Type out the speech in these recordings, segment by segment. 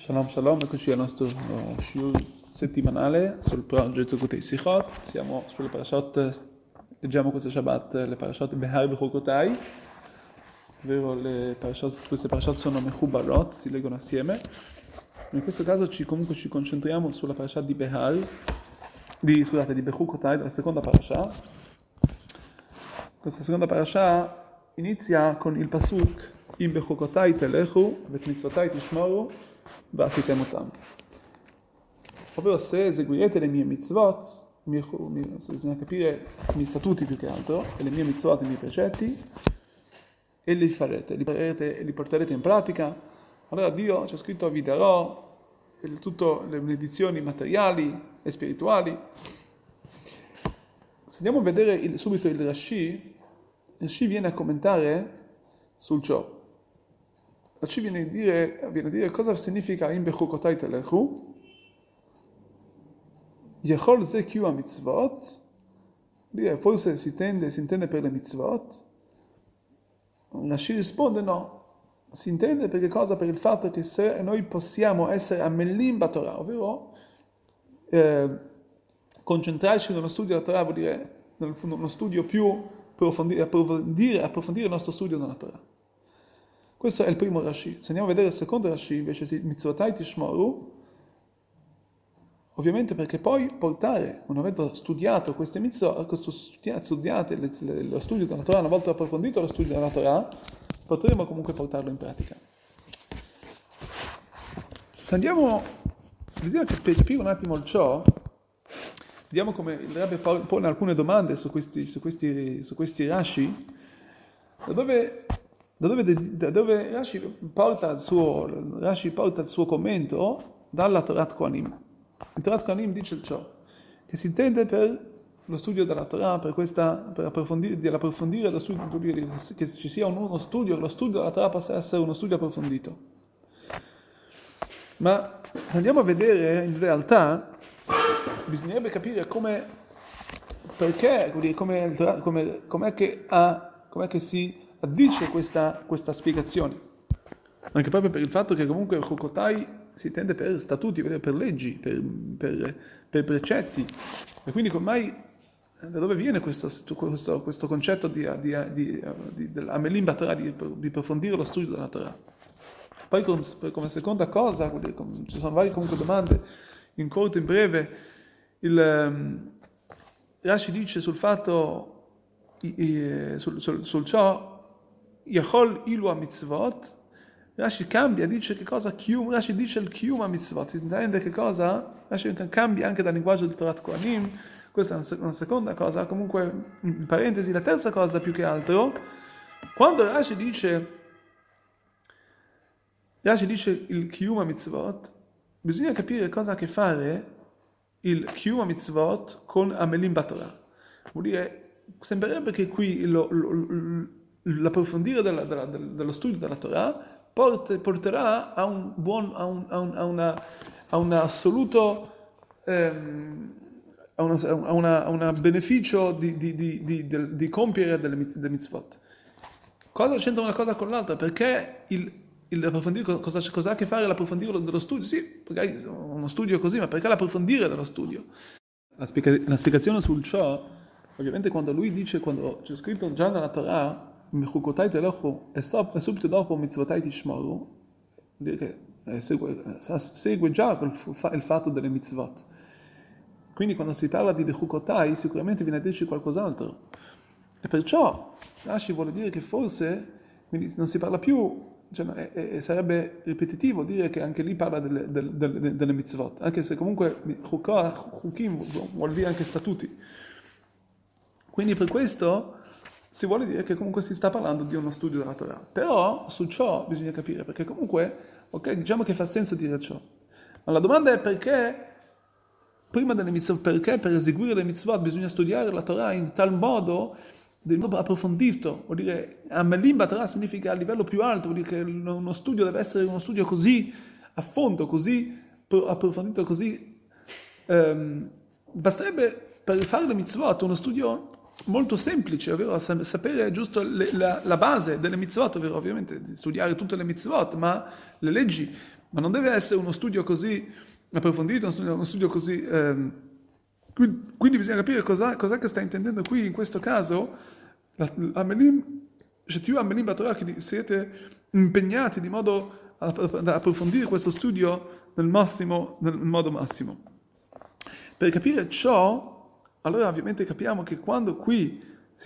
Shalom Shalom, eccoci al nostro shiur settimanale sul progetto Likutei Sichot. Siamo sulle parashot, leggiamo questo Shabbat le parashot Behar Bechukotai, ovvero queste parashot sono Mechubarot, si leggono assieme. In questo caso ci concentriamo sulla parashat di di Bechukotai, della seconda parasha. Questa seconda parasha inizia con il pasuk Im Bechukotai telechu, vet mitzvotai tishmoru, ועשיתם אותם. Ovvero se eseguirete le mie mitzvot, bisogna capire i miei statuti più che altro, e le mie mitzvot, i miei precetti, e li farete, e li porterete in pratica, allora Dio, c'è scritto, vi darò tutte le benedizioni materiali e spirituali. Se andiamo a vedere subito il Rashi viene a commentare sul ciò. Rashi viene a dire cosa significa Im Bechukotai telechu. Yechol ze kiu mitzvot. Forse si intende per le mitzvot. Rashi risponde no. Si intende per che cosa? Per il fatto che se noi possiamo essere amelim batorah, ovvero concentrarci nello studio della Torah, vuol dire uno studio più approfondire il nostro studio della Torah. Questo è il primo Rashi. Se andiamo a vedere il secondo Rashi, invece di mitzvotai tishmoru, ovviamente perché poi portare, una volta studiato queste mitzvot, studiate lo studio della Torah, una volta approfondito lo studio della Torah, potremo comunque portarlo in pratica. Se andiamo a vedere per capire un attimo il ciò, vediamo come il Rebbe pone alcune domande su questi Rashi, da dove Rashi porta il suo commento dalla Torat Kohanim. Il Torat Kohanim dice ciò, che si intende per lo studio della Torah, per approfondire lo studio, che ci sia uno studio, lo studio della Torah possa essere uno studio approfondito. Ma se andiamo a vedere in realtà, bisognerebbe capire com'è che si addice questa spiegazione, anche proprio per il fatto che comunque Bechukotai si intende per statuti, per leggi, per precetti, e quindi da dove viene questo concetto dell'amelim batorah, di approfondire lo studio della Torah. Poi come seconda cosa, ci sono varie comunque domande, in corto, in breve, il Rashi dice sul fatto, sul ciò, Yachol ilu mitzvot. Rashi cambia, dice che cosa? Rashi dice il kiyum mitzvot. Si intende che cosa? Rashi cambia anche dal linguaggio del Torat Kohanim. Questa è una seconda cosa. Comunque, in parentesi, la terza cosa più che altro, quando Rashi dice il kiyum mitzvot, bisogna capire cosa ha a che fare il kiyum mitzvot con amelim batorah. Vuol dire, sembrerebbe che qui l'approfondire dello studio della Torah porterà a un assoluto beneficio di compiere delle mitzvot. Cosa c'entra una cosa con l'altra? Perché l'approfondire, cosa ha a che fare l'approfondire dello studio? Sì, magari uno studio così, ma perché l'approfondire dello studio? La spiegazione sul ciò, ovviamente quando c'è scritto già nella Torah, Bechukotai telechu, e subito dopo mitzvotai tishmoru, che segue già il fatto delle mitzvot. Quindi quando si parla di Bechukotai sicuramente viene a dirci qualcos'altro. E perciò Rashi vuole dire che forse quindi non si parla più, sarebbe ripetitivo dire che anche lì parla delle mitzvot, anche se comunque Chukim vuol dire anche statuti. Quindi per questo si vuole dire che comunque si sta parlando di uno studio della Torah. Però su ciò bisogna capire, perché comunque, diciamo che fa senso dire ciò. Ma la domanda è perché prima delle mitzvot, perché per eseguire le mitzvot bisogna studiare la Torah in tal modo, del modo approfondito. Vuol dire, amelim batorah significa a livello più alto, vuol dire che uno studio deve essere uno studio così a fondo, così approfondito, così basterebbe per fare le mitzvot uno studio molto semplice, ovvero sapere giusto la base delle mitzvot, ovvero ovviamente studiare tutte le mitzvot, ma le leggi, ma non deve essere uno studio così approfondito, uno studio così... quindi bisogna capire cos'è che sta intendendo qui in questo caso, Shetiu Amelim Batorah, che siete impegnati di modo ad approfondire questo studio nel modo massimo. Per capire ciò, allora ovviamente capiamo che quando qui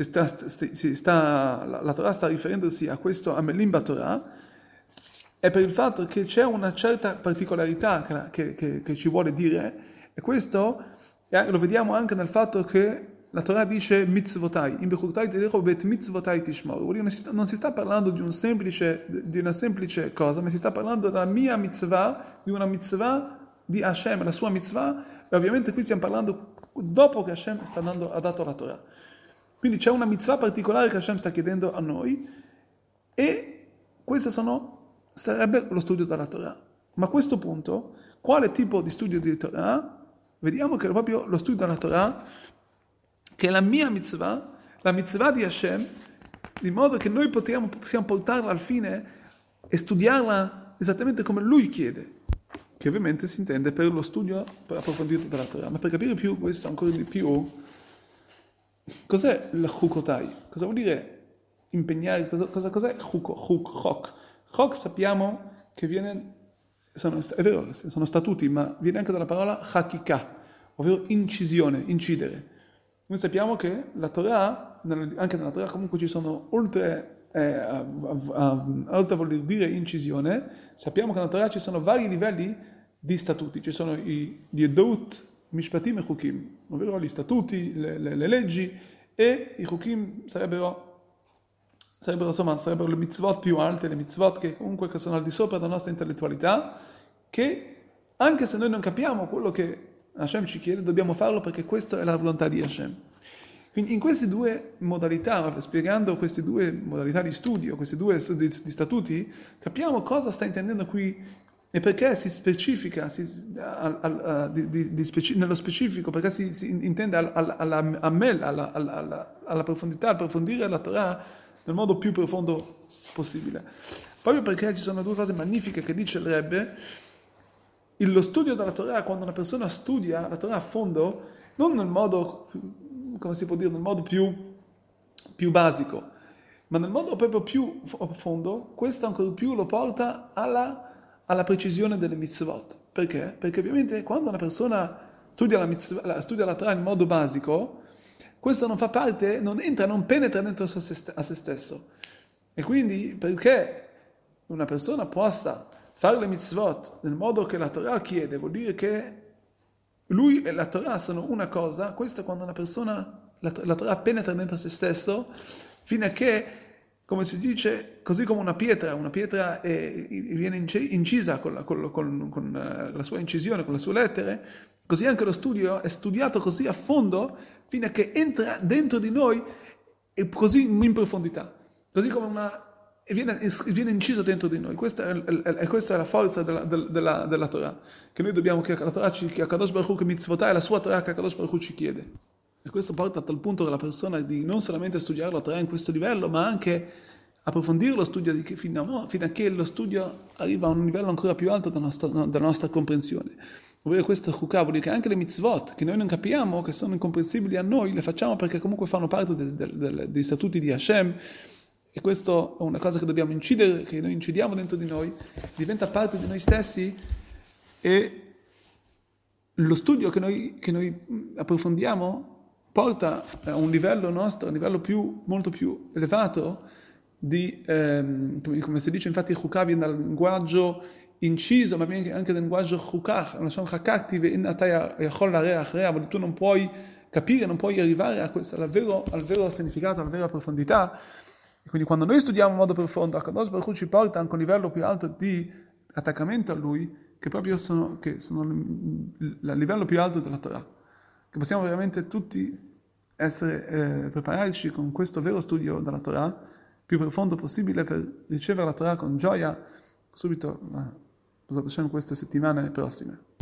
la Torah sta riferendosi a questo Amelim Batorah, è per il fatto che c'è una certa particolarità che ci vuole dire, e questo lo vediamo anche nel fatto che la Torah dice mitzvotai, in Bechutai Tidecho bet mitzvotai tishmor. Non si sta parlando di una semplice cosa, ma si sta parlando della mia mitzvah, di una mitzvah di Hashem, la sua mitzvah, e ovviamente qui stiamo parlando dopo che Hashem ha dato la Torah. Quindi c'è una mitzvah particolare che Hashem sta chiedendo a noi, e questo sarebbe lo studio della Torah. Ma a questo punto, quale tipo di studio di Torah? Vediamo che è proprio lo studio della Torah, che è la mia mitzvah, la mitzvah di Hashem, di modo che noi possiamo portarla al fine e studiarla esattamente come Lui chiede, che ovviamente si intende per lo studio per approfondire della Torah. Ma per capire più questo ancora di più, cos'è il chukotai? Cosa vuol dire impegnare? Cos'è chok? Chok sappiamo che è vero, sono statuti, ma viene anche dalla parola hakika, ovvero incisione, incidere. Noi sappiamo che la Torah, anche nella Torah comunque ci sono, oltre a voler dire incisione, sappiamo che nella Torah ci sono vari livelli di statuti, ci sono gli Edout, Mishpatim e Chukim, ovvero gli statuti, le leggi, e i Chukim sarebbero le mitzvot più alte, le mitzvot che sono al di sopra della nostra intellettualità, che anche se noi non capiamo quello che Hashem ci chiede, dobbiamo farlo perché questa è la volontà di Hashem. Quindi in queste due modalità, spiegando queste due modalità di studio, questi due di statuti, capiamo cosa sta intendendo qui e perché si specifica nello specifico, perché si intende alla profondità, approfondire la Torah nel modo più profondo possibile. Proprio perché ci sono due cose magnifiche che dice il Rebbe. Lo studio della Torah, quando una persona studia la Torah a fondo, non nel modo, come si può dire, nel modo più basico, ma nel modo proprio più a fondo, questo ancora più lo porta alla precisione delle mitzvot. Perché? Perché ovviamente quando una persona studia la Torah in modo basico, questo non penetra dentro a se stesso. E quindi perché una persona possa fare le mitzvot nel modo che la Torah chiede, vuol dire che lui e la Torah sono una cosa. Questo è quando una persona, la Torah penetra dentro se stesso, fino a che, come si dice, così come una pietra viene incisa con la sua incisione, con le sue lettere, così anche lo studio è studiato così a fondo, fino a che entra dentro di noi e così in profondità, così come viene inciso dentro di noi. Questa è la forza della Torah, che noi dobbiamo, che la Torah che Akadosh Baruch Hu, che mitzvotah è la sua Torah che Akadosh Baruch Hu ci chiede. E questo porta a tal punto che la persona di non solamente studiare la Torah in questo livello, ma anche approfondire lo studio fino a che lo studio arriva a un livello ancora più alto della nostra comprensione. Ovvero questo chukah vuol dire che anche le mitzvot, che noi non capiamo, che sono incomprensibili a noi, le facciamo perché comunque fanno parte dei statuti di Hashem. E questo è una cosa che dobbiamo incidere, che noi incidiamo dentro di noi, diventa parte di noi stessi, e lo studio che noi approfondiamo porta a un livello nostro, a un livello molto più elevato come si dice, infatti il chukah viene dal linguaggio inciso, ma viene anche dal linguaggio chukah, tu non puoi capire, non puoi arrivare al vero significato, alla vera profondità. E quindi quando noi studiamo in modo profondo, Akadosh Baruch Hu ci porta anche a un livello più alto di attaccamento a Lui, che proprio sono il livello più alto della Torah. Che possiamo veramente tutti prepararci con questo vero studio della Torah, più profondo possibile, per ricevere la Torah con gioia subito, queste settimane prossime.